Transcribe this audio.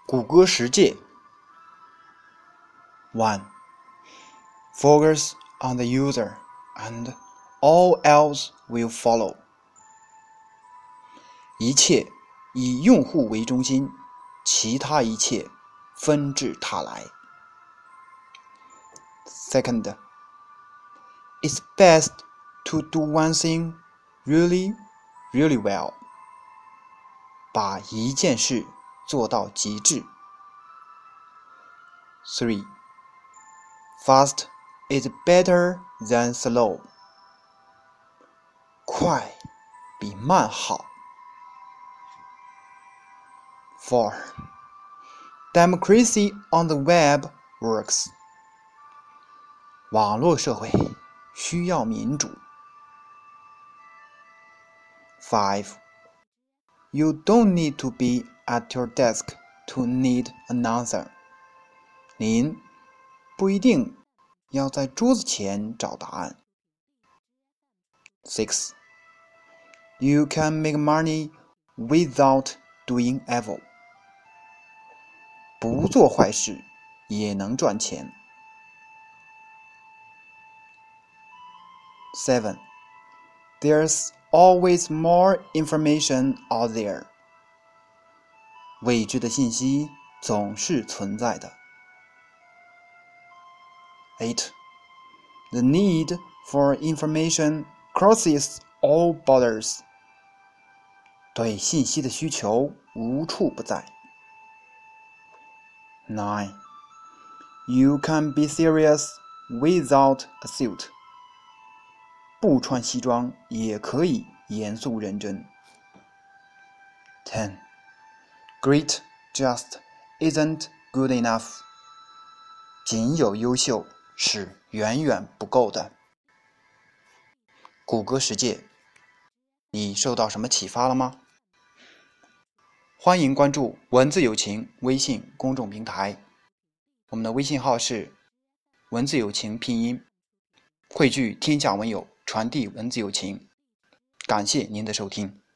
谷歌十诫 1. Focus on the user and all else will follow. 一切以用户为中心，其他一切纷至沓来。Second, it's best to do one thing really, really well. 把一件事做到极致。3. Fast is better than slow. 快比慢好。4. Democracy on the web works. 网络社会需要民主。5. You don't need to be at your desk to need an answer. 您不一定要在桌子前找答案。6. You can make money without doing evil. 不做坏事也能赚钱。7. There's always more information out there. 未知的信息总是存在的。8. The need for information crosses all borders. 对信息的需求无处不在。9. You can be serious without a suit. 不穿西装也可以严肃认真。10. Great just isn't good enough. 仅有优秀是远远不够的。谷歌十诫，你受到什么启发了吗？欢迎关注文字有情微信公众平台，我们的微信号是文字有情拼音，汇聚天下文友，传递文字有情。感谢您的收听。